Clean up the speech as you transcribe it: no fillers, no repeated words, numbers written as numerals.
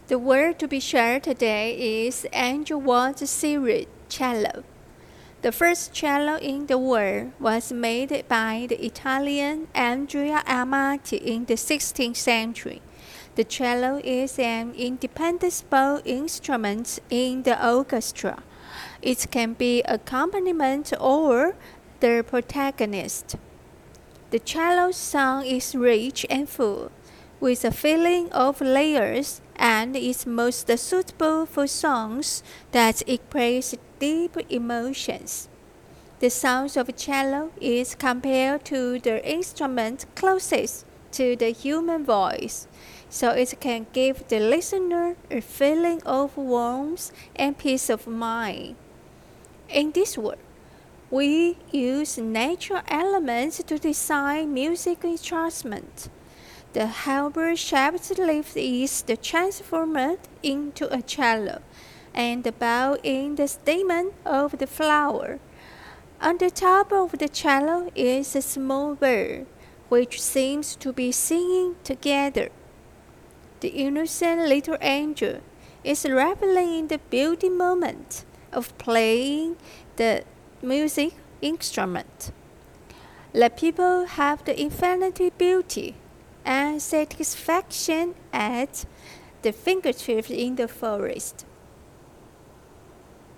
The word to be shared today is Angel Ward's series cello. The first cello in the world was made by the Italian Andrea Amati in the 16th century. The cello is an indispensable instrument in the orchestra. It can be accompaniment or the protagonist. The cello song is rich and full, with a feeling of layers, and is most suitable for songs that express deep emotions. The sound of cello is compared to the instrument closest to the human voice, so it can give the listener a feeling of warmth and peace of mind. In this world, we use natural elements to design music instruments. The halber-shaped leaf is transformed into a cello, and the bow in the stamen of the flower. On the top of the cello is a small bird, which seems to be singing together. The innocent little angel is reveling in the beauty moment of playing the music instrument. Let people have the infinite beauty and satisfaction at the fingertips in the forest.